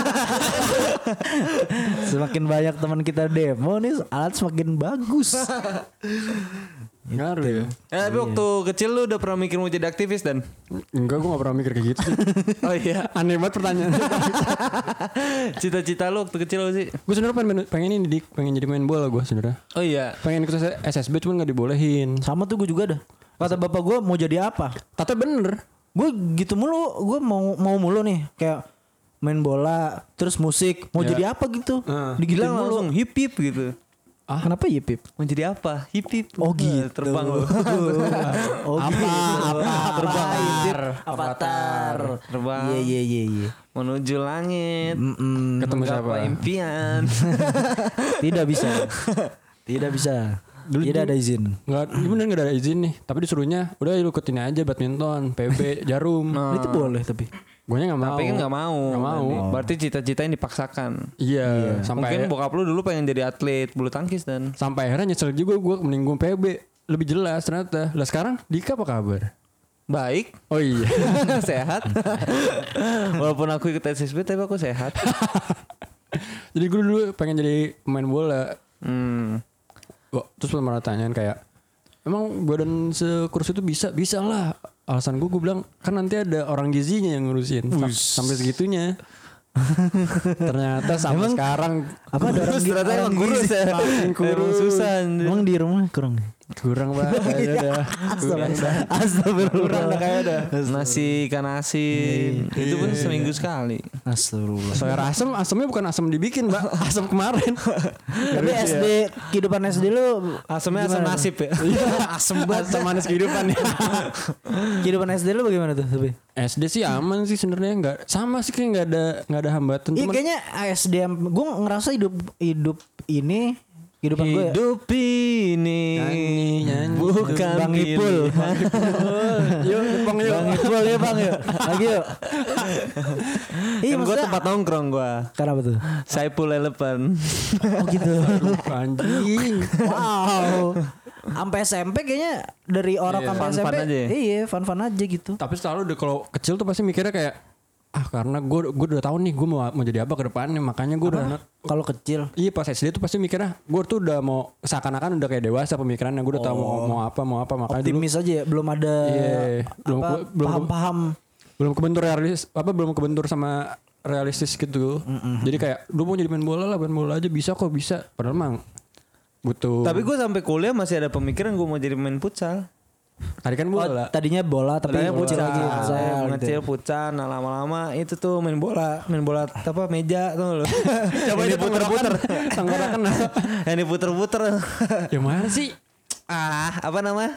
Semakin banyak teman kita demo nih alat semakin bagus. Ngaruh ya. Eh, tapi waktu kecil lu udah pernah mikir mau jadi aktivis Dan? Enggak, gue gak pernah mikir kayak gitu sih. Oh iya. Aneh banget pertanyaan. Cita-cita lu waktu kecil apa sih? Gue sebenarnya pengen, pengen ini dik, pengen jadi main bola gue sebenarnya. Oh iya. Pengen ikut S S B cuman gak dibolehin. Sama tuh gue juga dah. Kata bapak gue mau jadi apa? Tata bener. Gue gitu mulu, gue mau mau mulu nih kayak main bola, terus musik, mau Ya. jadi apa gitu? Nah. Digituin Bilang mulu. langsung hip hip gitu. Ah, kenapa ya Pip? Mau jadi apa? Hip hip. Oh gitu. Terbang lu. Oh Apa? gitu. Apa? Terbang. Avatar. Avatar. Terbang. Iya iya iya iya. Menuju langit. Mm-mm. Ketemu siapa? Menggapai impian. Tidak bisa. Tidak bisa. Dulu Tidak tuh- ada izin. Nggak, bener gak ada izin nih. Tapi disuruhnya, udah lu ikutin aja badminton, P B, jarum. Nah, itu boleh tapi. Gue nya gak mau. Tapi kan nggak mau. Nggak mau. Berarti cita-cita yang dipaksakan. Iya. Sampai Mungkin bokap lu dulu pengen jadi atlet bulu tangkis Dan. sampai akhirnya nyesel juga gue mending gue P B. Lebih jelas ternyata. Lah sekarang Dika apa kabar? Baik. Oh iya. Sehat. Walaupun aku ikut S S B tapi aku sehat. Jadi gue dulu pengen jadi pemain bola. Hmm. Gua, terus pernah tanyain kayak, emang badan sekurus itu bisa? Bisa lah. Alasan gue, gue bilang, kan nanti ada orang gizinya yang ngurusin. Sam- Sampai segitunya. Ternyata sampai Emang sekarang apa ada orang Ternyata orang emang kurus gizi? ya. Makin kurus. Emang susah. Emang di rumah kurang. Kurang banget kayaknya udah. Kurang dah. Astagfirullah. Kurang dah kayaknya udah. Nasi ikan asin. Itu pun seminggu sekali. Astagfirullah. Soalnya asam, asamnya bukan asam dibikin, Mbak. Asam kemarin. Tapi S D kehidupan S D lu Asamnya asam gimana nasib ya. Asam banget. Asam manis kehidupan ya. Kehidupan S D lu bagaimana tuh, Tapi? S D sih aman sih sebenarnya, nggak sama sih, kayak nggak ada nggak ada hambatan. Iya Cuman kayaknya S D gue ngerasa hidup hidup ini kehidupan gue ya. Hidup ini Nyanyi, nyanyi. bukan Bang Ipul. yuk, Bang yuk. Bang Ipul ya Bang yuk. Lagi yuk. Iya Kan gue maksudnya tempat nongkrong gue. kenapa tuh? Saipul Eleven. Oh gitu. Anjing. Wow. Sampai S M P kayaknya dari orang Iya, sampai S M P. fun-fun aja ya? Iya, fun-fun aja gitu. Tapi selalu deh kalau kecil tuh pasti mikirnya kayak ah karena gue gue udah tahu nih gue mau mau jadi apa ke depannya, makanya gue udah Kalau kecil. iya pas S D tuh pasti mikirnya gue tuh udah mau seakan-akan udah kayak dewasa pemikirannya, gue udah tahu mau, mau apa mau apa makanya dulu Optimis aja ya, belum ada Iya, belum apa, ke- belum ke- paham-paham. belum kebentur realis apa belum kebentur sama realistis gitu. Jadi kayak lu mau jadi main bola lah, main bola aja bisa kok bisa. Padahal emang butuh. Tapi gue sampai kuliah masih ada pemikiran gue mau jadi main futsal. tadi kan Oh, bola. tadinya bola tapi Tadinya kecil futsal, lagi futsal gitu. ngecil futsal. Nah lama-lama itu tuh main bola, main bola apa meja tuh lo. Coba Yang itu diputer-puter, tenggorokan. yang diputer-puter. Yang mana sih? Ah, apa namanya?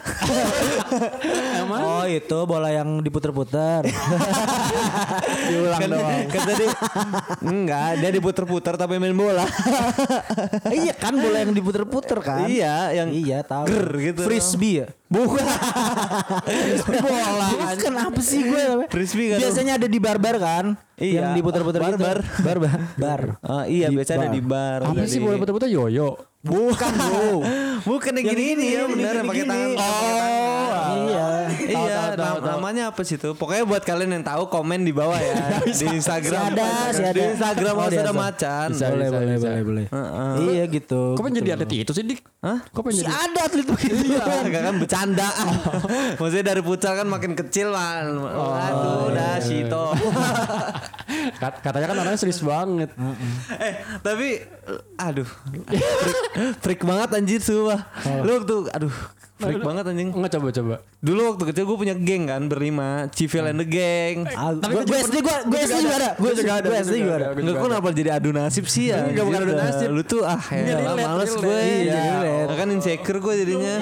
Oh itu bola yang diputer-puter. Diulang kan, doang. kan tadi enggak, dia diputer-puter tapi main bola. Iya kan bola yang diputer-puter kan. Iya, yang Iya tahu. ger gitu. Frisbee ya. Bukan. Bola. Bukan apa sih gue namanya? Frisbee kan. Biasanya ada di bar-bar kan. Iya. Yang diputer-puter gitu. Bar-bar. Bar-bar. Bar. Oh, iya, Di biasanya ada bar. di bar. Apa ada sih di- bola putar-putar yoyo? Bukan bro. Bukan yang Yang gini-gini ini, ya, yang benar yang pakai gini-gini. tangan. Oh, iya. Iya, nam- namanya apa sih itu? Pokoknya buat kalian yang tahu komen di bawah ya di Instagram. Si ada, si ada. Di Instagram Oh, harus di ada ada. macan. Bisa, boleh, bisa, boleh, bisa. boleh, boleh. Heeh. Iya gitu. Kok pengen jadi atlet itu sih, Dik? Hah? Kok pengen Si jadi? ada atlet begitu. Iya, enggak kan bercanda. Maksudnya dari futsal kan makin kecil man. Aduh, dah Shito. Kat- Katanya kan orangnya serius banget. eh, tapi aduh. Freak, freak banget anjir sumpah. Lu waktu aduh, freak banget anjing. Enggak coba-coba. Dulu waktu kecil gue punya geng kan berlima, Civil and the Gang. Ah, Gue gue S D gue gue S D juga ada. Gue juga ada. Gue S D juga ada. Enggak, kok kenapa jadi adu nasib sih ya? Enggak, bukan adu Anjir, nasib. Lu tuh ah ya lah, relate, males relate. gue. Iya, Ya, relate. kan insecure gue jadinya.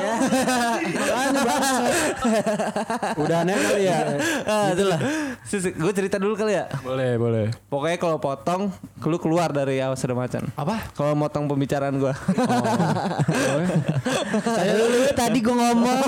Udah aneh kali ya. Ah, itulah. Gue cerita dulu kali ya. Boleh, boleh. Pokoknya kalau potong, lu keluar dari Awas Ada Macan. Apa? Kalau motong pembicaraan gue. Saya dulu tadi gue ngomong.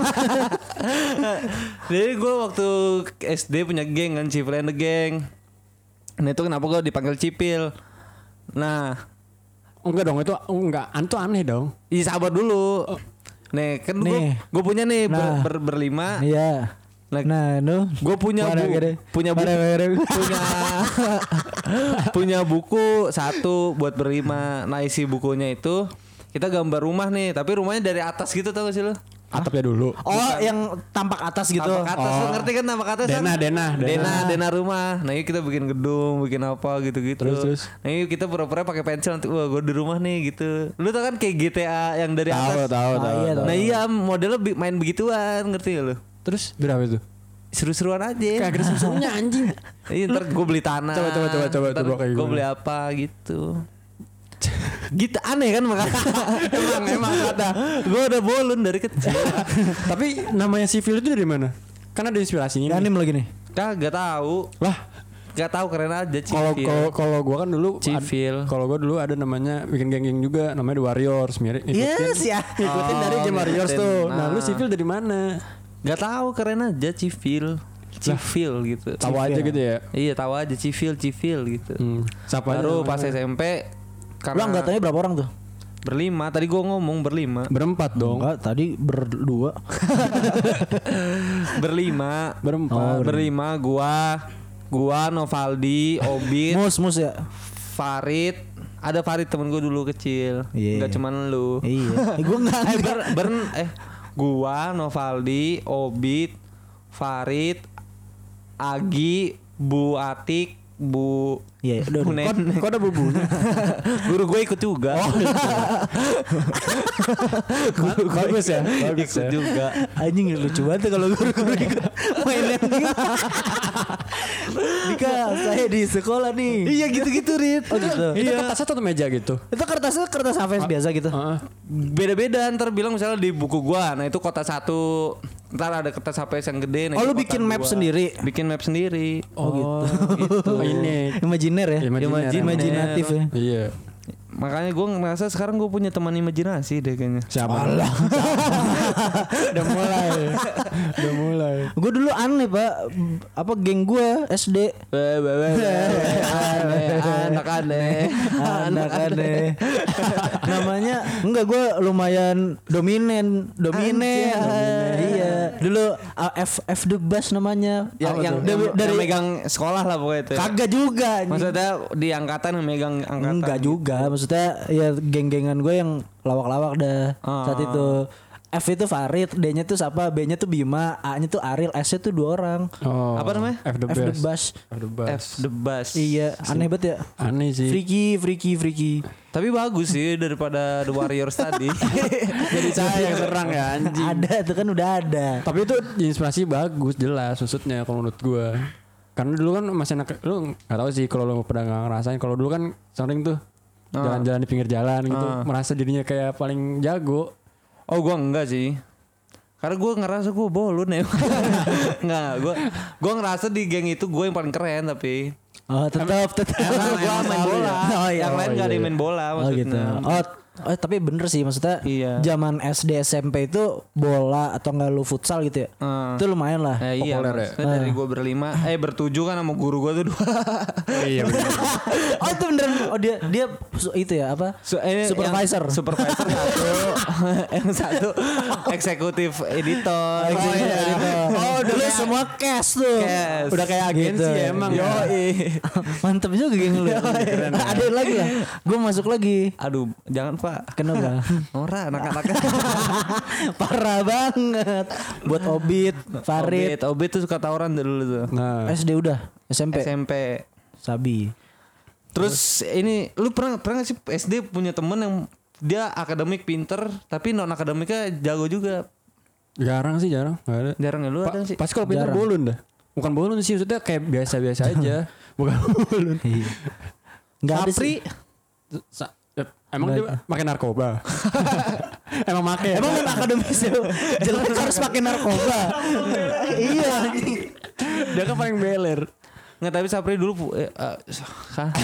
Jadi gue waktu S D punya geng kan, Civil and the Gang. Nah itu kenapa gue dipanggil Cipil. Nah, Enggak dong, itu enggak, itu aneh dong. iya sabar dulu. Nih kan gue Nih. gue punya nih ber- Nah. ber- berlima. Iya. Nah, Nah, nu. gue punya Mana bu- gede? punya buku, Mana gede? punya punya buku satu buat berlima. Nah isi bukunya itu kita gambar rumah nih, tapi rumahnya dari atas gitu tau gak sih lo? Atapnya dulu. Oh, yang tampak atas gitu. Tampak atas, lo Oh. ngerti kan tampak atas? Dena, kan? dena, dena, dena. dena rumah. Nah ini kita bikin gedung, bikin apa gitu-gitu. Terus, terus. Nah ini kita pura-pura pakai pensil nanti, wah gue di rumah nih gitu. Lu tau kan kayak G T A yang dari Tahu, atas? tahu, Ah, tahu. iya, tahu. Nah iya modelnya bi- main begituan, ngerti gak lu? Terus berapa itu? Seru-seruan aja. Kayak ada susunya anjing. Iya ntar gue beli tanah. Coba, coba, coba, coba, Ntar coba kayak gue gimana. beli apa gitu. Gitu aneh kan makanya. Emang, emang kata. Gue udah bolon dari kecil. Tapi namanya sivil itu dari mana? Kan ada inspirasinya. nih. Anim lagi nih. Kagak tahu. Lah, Gak tahu keren aja kalau Civil. kalau kalau gua kan dulu ad- Civil. kalau gua dulu ada namanya bikin geng-geng juga namanya The Warriors, mirip Yes, ya. Ngikutin dari Oh, Game Warriors ngikutin. tuh. Nah, Nah. lu sivil dari mana? Gak tahu keren aja Civil. Civil gitu. Tahu aja gitu ya. Iya tahu aja Civil Civil gitu. Hmm. Siapa aja Baru namanya? pas S M P Lu karena anggatannya berapa orang tuh? berlima. Tadi gua ngomong berlima. Berempat dong. Enggak, tadi berdua. berlima. Berempat. Oh, berlima gua gua Novaldi, Obit, Mus, mus ya. Farid. Ada Farid temen gua dulu kecil. Iya. Enggak cuman lu. Iya. Eh, gua enggak. eh ber, ber- eh gua Novaldi, Obit, Farid, Agi, Bu Atik, Bu Iya, udah, Bu udah. Nen. Kok ada bubunya? Guru gue ikut juga. Oh, guru bagus ya, bagus ikut ya. juga. Anjing lucu banget kalau guru-guru ikut mainan gitu. Dika, saya di sekolah nih. Iya gitu-gitu Rit. Oh gitu. Itu kertasnya satu meja gitu. Itu kertasnya kertas H V S biasa gitu. Heeh. Beda-beda ntar bilang misalnya di buku gua, nah itu kotak satu, ntar ada kertas H P S yang gede. Nah Oh, itu lu bikin kotak map dua. sendiri? Bikin map sendiri. Oh, gitu. Ini Imajiner ya? Imajiner. Imajinatif ya. iya. Makanya gue ngerasa sekarang gue punya teman imajinasi deh kayaknya. Siapa? Udah mulai. Udah mulai. Gue dulu aneh pak, apa geng gue S D. Aneh, anak aneh, Anak aneh. Namanya enggak, gue lumayan dominen, dominen. Iya. Dulu uh, F F the best namanya. Yang Apa yang, tuh? yang, dari yang megang sekolah lah pokoknya itu. Kagak juga. Maksudnya di angkatan yang megang angkatan. Enggak juga, maksudnya ya geng-gengan gue yang lawak-lawak dah Ah. saat itu. F itu Farid, D-nya tuh siapa, B-nya tuh Bima, A-nya tuh Ariel, S-nya tuh dua orang. Oh. Apa namanya? F the F the best. Bass. F the best. F the bus. Iya, aneh banget ya. Aneh sih. Freaky, freaky, freaky. Tapi bagus sih daripada The Warriors tadi. Jadi saya yang serang ya anjing. Ada tuh kan udah ada. Tapi itu inspirasi bagus jelas maksudnya kalau menurut gua. Karena dulu kan masih anak, lu nggak tahu sih kalau lu pernah nggak ngerasain. Kalau dulu kan sering tuh jalan-jalan di pinggir jalan gitu, Ah. merasa dirinya kayak paling jago. Oh gua enggak sih. Karena gue ngerasa gue bolon ya. Enggak, gue gue ngerasa di geng itu gue yang paling keren tapi Oh tetap tetap. gue main bola. Oh iya. Yang lain Oh, gak ada iya, yang main bola Oh gitu. maksudnya. Oh, oh tapi bener sih maksudnya. Iya. Zaman S D S M P itu bola atau enggak lu futsal gitu ya. Hmm. Itu lumayan lah. Eh, iya, Populer ya? maksudnya dari gue berlima, eh bertujuh kan sama guru gue tuh dua. Iya benar. Oh itu beneran. Oh dia dia su- itu ya apa? Su- eh, Supervisor. yang supervisor satu, yang satu eksekutif editor. Oh iya. Oh dulu semua cash tuh. Cash. Udah kayak agensi Gitu. ya emang. Yo, Ya. Mantep juga geng lu. Keren ya. Ada lagi ya? Gue masuk lagi. Aduh, jangan Pak. Kenapa? Ora anak-anaknya. Parah banget. Buat Obit, Farid, Obit, Obit tuh suka tawuran dulu tuh. Nah, S D udah, S M P, S M P. Sabi. Terus ini lu pernah pernah gak sih S D punya temen yang dia akademik pinter tapi non akademiknya jago juga. jarang sih jarang. Gak ada. Jarang ya lu Pa- ada sih. Pasti kalau pintar Jarang. bolon dah. Bukan bolon sih maksudnya kayak biasa-biasa aja. Bukan bolon. Enggak ada Sapri sih. Sa- eh, Emang dia makin narkoba. Emang make. Emang kan akademis ya? Jelek harus pakai narkoba. Iya. Dia kan paling beler. nggak tapi Sapri dulu pu- eh, eh, hah?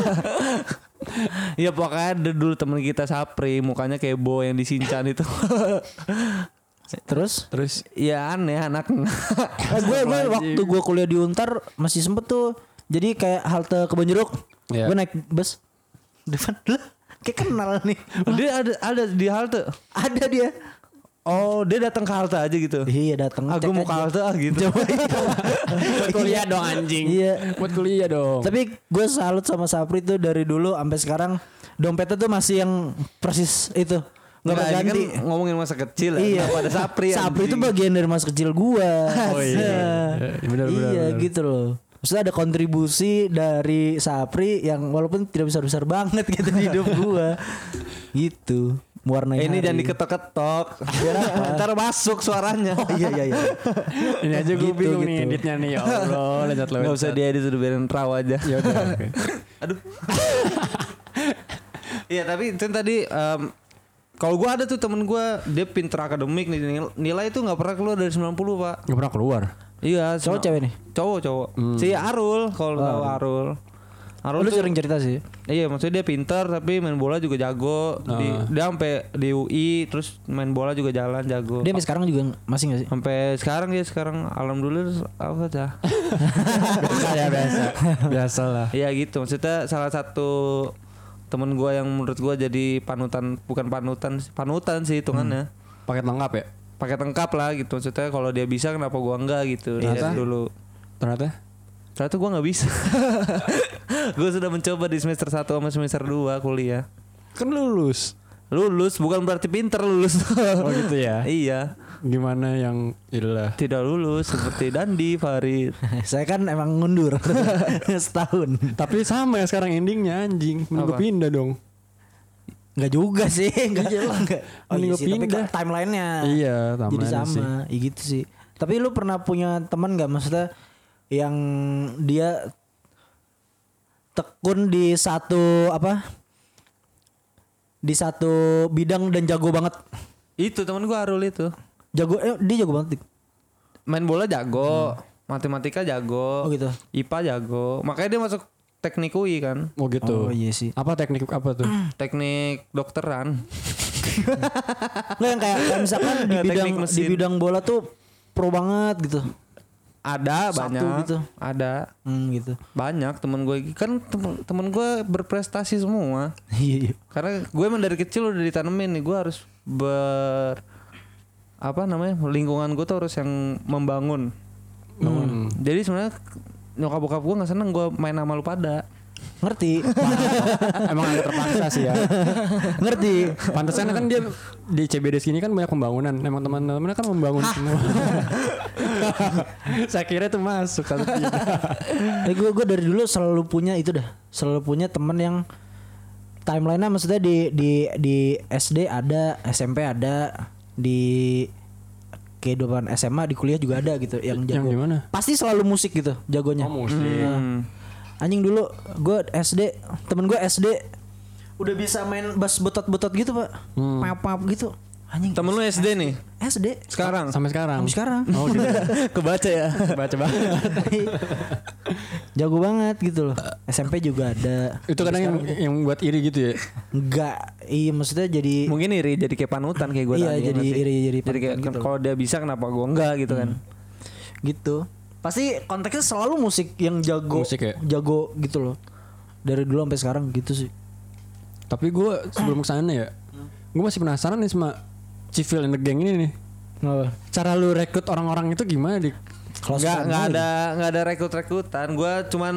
Ya pokoknya ada dulu temen kita Sapri mukanya kayak Bo yang di Shinchan itu. Terus? Terus Ya aneh anak. Eh, gue gue waktu gue kuliah di Untar masih sempet tuh. Jadi kayak halte Kebonjeruk. Iya. Gue naik bus. Depan lah. Kayak kenal nih. Dia ada ada di halte. Ada dia. Oh dia datang ke halte aja gitu. Iya datang. Aku cek mau ke aja. halte ah gitu. buat kuliah dong anjing. Iya. Buat kuliah dong. Tapi gue salut sama Sapri tuh dari dulu sampai sekarang dompetnya tuh masih yang persis itu. Nggak Nggak, ini kan ganti. ngomongin masa kecil Iya. ya. Pada Sapri. Sapri itu anjing. bagian dari masa kecil gua. Oh iya. Iya, benar, benar, Iya benar. gitu loh. Maksudnya ada kontribusi dari Sapri yang walaupun tidak besar-besar banget gitu di hidup gua. Gitu. Mewarnai Eh, ini hari. jangan diketok-ketok. Biar apa? Ntar masuk suaranya. Oh iya iya iya. Ini aja gue Gitu, bingung nih gitu. editnya nih. Ya Allah, lanjut lo. Gak usah diedit udah biarin raw aja. Ya udah. Oke. Aduh. Iya tapi itu tadi em, kalau gue ada tuh temen gue dia pinter akademik nih nil- nilai itu nggak pernah keluar dari sembilan puluh pak. Gak pernah keluar. Iya. Cowok sembilan- cewek nih? Cowok cowok. Si Arul kalau tahu Arul. Arul Lu tuh, sering cerita sih. iya maksudnya dia pinter tapi main bola juga jago. Di, dia sampai di U I terus main bola juga jalan jago. Dia sampai sekarang juga masih gak sih? Sampai sekarang dia sekarang alhamdulillah apa dah. Biasa ya biasa. Biasa lah. Iya gitu maksudnya salah satu temen gue yang menurut gue jadi panutan bukan panutan panutan sih hitungannya. Paket lengkap ya. Pakai lengkap lah gitu maksudnya kalau dia bisa kenapa gua enggak gitu dari Ternyata? dulu Ternyata. ternyata gua nggak bisa. Gua sudah mencoba di semester satu sama semester dua kuliah Kan lulus. lulus bukan berarti pinter lulus. Oh gitu ya. Iya Gimana yang iyalah. Tidak lulus seperti Dandi Farid. Saya kan emang mundur setahun. Tapi sama ya sekarang endingnya anjing. Mending gue Apa? pindah dong. Enggak juga sih, enggak. enggak. Oh Mending iya gua sih, tapi pindah. kok timelinenya. Iya, Jadi timeline sama, sih. ya gitu sih. Tapi lu pernah punya teman nggak maksudnya yang dia tekun di satu apa? Di satu bidang dan jago banget. Itu teman gue Arul itu. Jago eh dia jago banget. Dik. Main bola jago, matematika jago, Oh gitu. I P A jago. Makanya dia masuk teknik U I kan. Oh gitu. Oh iya sih. Apa teknik apa tuh? Teknik dokteran. Nggak yang kayak, kayak misalkan di Teknik bidang mesin. di bidang bola tuh pro banget gitu. Ada Satu banyak. gitu. Ada Hmm gitu. banyak temen gue kan temen, temen gue berprestasi semua. Iya iya. Karena gue emang dari kecil udah ditanemin nih gue harus ber apa namanya lingkungan gue tuh harus yang membangun. Hmm. Jadi sebenarnya nyokap bokap gue nggak seneng gue main sama lu pada. Ngerti. Emang agak terpaksa sih ya. Ngerti. Pantesan kan dia di C B D sini kan banyak pembangunan. Emang teman-temannya kan membangun semua. Saya kira itu masuk satu tidak. Eh gue gue dari dulu selalu punya itu dah. Selalu punya temen yang timelinenya maksudnya di di di S D ada, S M P ada, di kehidupan S M A di kuliah juga ada gitu yang jago. Yang gimana? Pasti selalu musik gitu jagonya. Oh, musik. Hmm. Anjing dulu gue S D, temen gue S D udah bisa main bass botot-botot gitu pak, Hmm. pap-pap gitu. Anjing. Temen lu S D nih S D sekarang. Sampai sekarang. sampai sekarang. Oh, gitu. Kebaca ya. Baca banget. Jago banget gitu loh. S M P juga ada. Itu kadang yang, yang buat iri gitu ya. Enggak, iya maksudnya jadi Mungkin iri jadi kayak panutan kayak gue Iya, tadi. jadi nggak sih? iri, jadi Jadi kayak panutan gitu. kalau dia bisa kenapa gue enggak gitu kan. gitu. Pasti konteksnya selalu musik yang jago, Musik ya? jago gitu loh. Dari dulu sampai sekarang gitu sih. Tapi gue sebelum kesana ya, gue masih penasaran nih sama Civil and the Gang ini nih. Kenapa? Cara lu rekrut orang-orang itu gimana dik? Close Nggak friend nggak aja. ada nggak ada rekrut-rekrutan. Gue cuman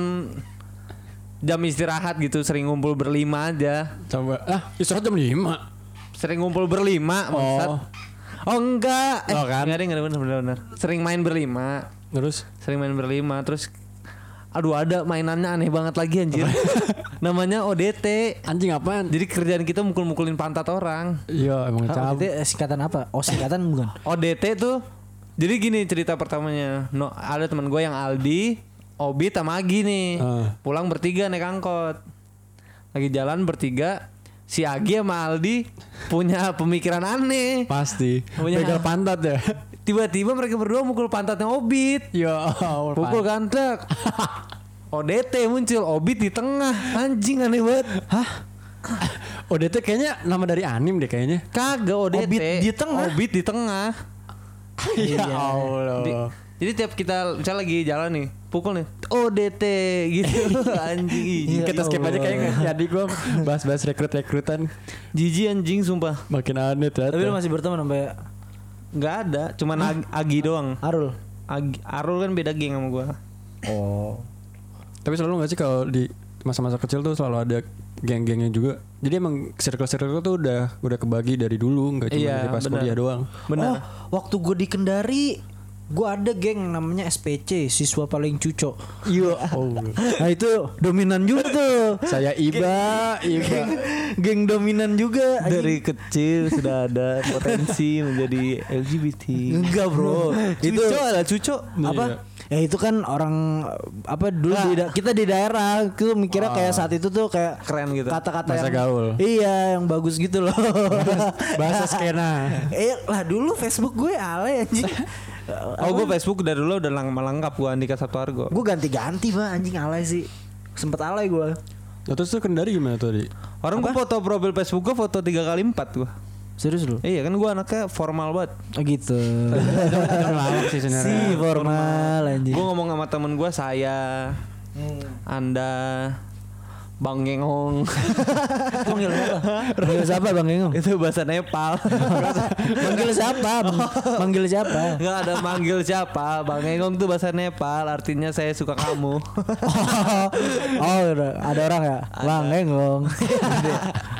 jam istirahat gitu sering ngumpul berlima aja. Coba ah istirahat jam lima. Sering ngumpul berlima bangsat. Oh. Oh enggak. Eh, Oh, kan? enggak deh, enggak benar benar benar. Sering main berlima. Terus Sering main berlima terus aduh ada mainannya aneh banget lagi anjir. Namanya O D T. anjing apaan? Jadi kerjaan kita mukul-mukulin pantat orang. Iya emang Ah, cabut. itu singkatan apa? Oh singkatan bukan? O D T tuh jadi gini cerita pertamanya. No, ada teman gue yang Aldi, Obit sama Agi nih. Ah. Pulang bertiga naik angkot. Lagi jalan bertiga, si Agi sama Aldi punya pemikiran aneh. Pasti. Punya- Begal pantat ya. Tiba-tiba mereka berdua mukul pantatnya Obit. Ya Allah. Pukul kan truk. O D T muncul, Obit di tengah. Anjing aneh banget. Hah? O D T kayaknya nama dari anim deh kayaknya. Kagak O D T. Obit di tengah? Obit di tengah. Ya Allah. Di- jadi tiap kita misalnya lagi jalan nih, pukul nih, O D T gitu. Anjing. Ya Kita skip aja kayaknya. Jadi gue bahas-bahas rekrut-rekrutan Jijik anjing sumpah. makin aneh ternyata. Tapi lu masih berteman sampai Nggak ada, cuman Ag- Agi doang. Arul. Agi, Arul kan beda geng sama gua. Oh. Tapi selalu gak sih kalau di masa-masa kecil tuh selalu ada geng-gengnya juga. Jadi emang circle-circle tuh udah udah kebagi dari dulu, nggak cuma Iya, dari pas benar. kuliah doang. Benar. Oh, waktu gue di Kendari, gue ada geng namanya S P C, siswa paling cuco. Iya. Oh. Nah itu dominan juga tuh. Saya Iba, Iba. Geng dominan juga. anjing. Dari kecil sudah ada potensi menjadi L G B T. Enggak bro. itu Cuco ada cuco. apa? Ya itu kan orang apa dulu di da- kita di daerah itu mikirnya kayak saat itu tuh kayak Keren gitu. kata-kata Masa yang gaul. Iya, yang bagus gitu loh. Bahasa skena. Eh lah dulu Facebook gue alay anjing. Oh gue Facebook dari dulu udah lama lengkap gua Andika Satuargo. Gue ganti-ganti Pak anjing alay sih. Sempet alay gue. Nah, terus tuh Kendari gimana tuh di? Orang gua foto profil Facebook gua foto tiga kali empat gua. Serius lu? Iya kan gua anaknya formal banget. Oh gitu. Lawak sih sebenarnya. Si formal anjing. Gua ngomong sama temen gua saya, Anda, Bang Gengong. Panggil siapa? Panggil siapa Bang Gengong? Itu bahasa Nepal. Manggil siapa? Manggil siapa? Enggak ada manggil siapa. Bang Gengong tuh bahasa Nepal, artinya saya suka kamu. Oh, ada orang ya? Bang Gengong.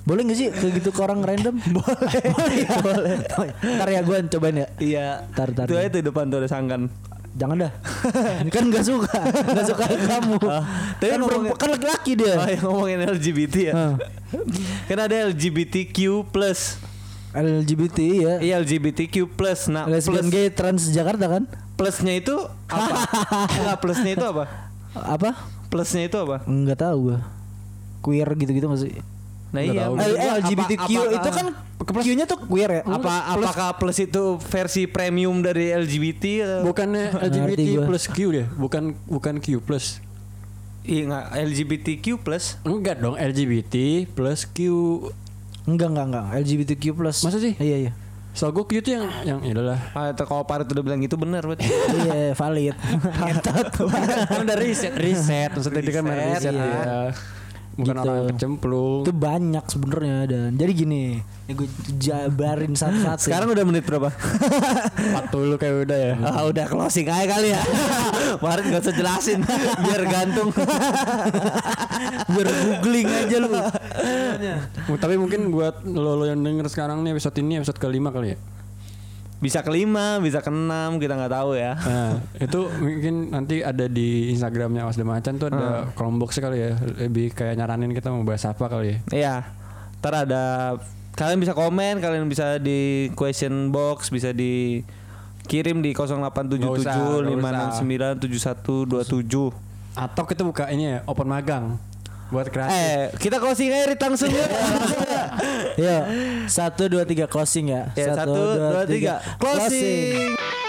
Boleh gak sih kayak gitu ke orang random? Boleh. Boleh. Ntar ya gue cobain ya. Iya. Tar, tar, Itu aja tuh depan tuh ada sangkan. Jangan dah. Kan gak suka. Gak suka kamu. Oh, tapi Kan ngomongin- perempuan- kan laki-laki dia. Oh, yang ngomongin L G B T ya. Hah. Kan ada L G B T Q plus. L G B T ya. Iya L G B T Q plus. Nah, Lesbian plus, gay trans Jakarta kan? plusnya itu apa? Enggak, plusnya itu apa? Apa? Plusnya itu apa? Enggak tahu gua. Queer gitu-gitu masih. Nah Nggak iya. tahu. maksud Eh, gua L G B T Q apa- apakah- itu kan Q-nya tuh queer ya? apa apakah plus itu versi premium dari L G B T atau? Bukannya L G B T Ngerti gua. plus Q deh, bukan bukan Q plus. Iya enggak L G B T Q plus. Enggak dong, L G B T plus Q. Enggak, enggak, enggak. L G B T Q plus. Masa sih? Iya, iya. Soal gue Q itu yang yang ya udahlah. Ah, itu kalau Parit udah bilang gitu benar berarti. Iya, valid. Kan udah riset, riset maksudnya dia kan main Riset, riset iya. ya. Bukan Gitu. orang yang kecemplung. Itu banyak sebenarnya dan jadi gini, ya gue jabarin satu-satu. Sekarang udah menit berapa? empat puluh kayak udah ya. Ah, udah closing aja kali ya. Parit enggak usah jelasin biar gantung. biar googling aja lu. Tapi mungkin buat lo, lo yang denger sekarang nih episode ini episode kelima kali ya. Bisa kelima, bisa keenam, kita nggak tahu ya. Nah, itu mungkin nanti ada di Instagramnya Awas Dan Macan tuh ada kolom boxnya kali ya. Lebih kayak nyaranin kita mau bahas apa kali ya. Iya. Ntar ada kalian bisa komen, kalian bisa di question box, bisa di kirim di nol delapan tujuh tujuh lima enam sembilan tujuh satu dua tujuh. Atau kita buka ini ya, open magang buat kreatif. Eh, kita closing aja Rit, langsung ya. Yo, satu dua tiga closing ya. Ya, satu, dua, tiga. Closing.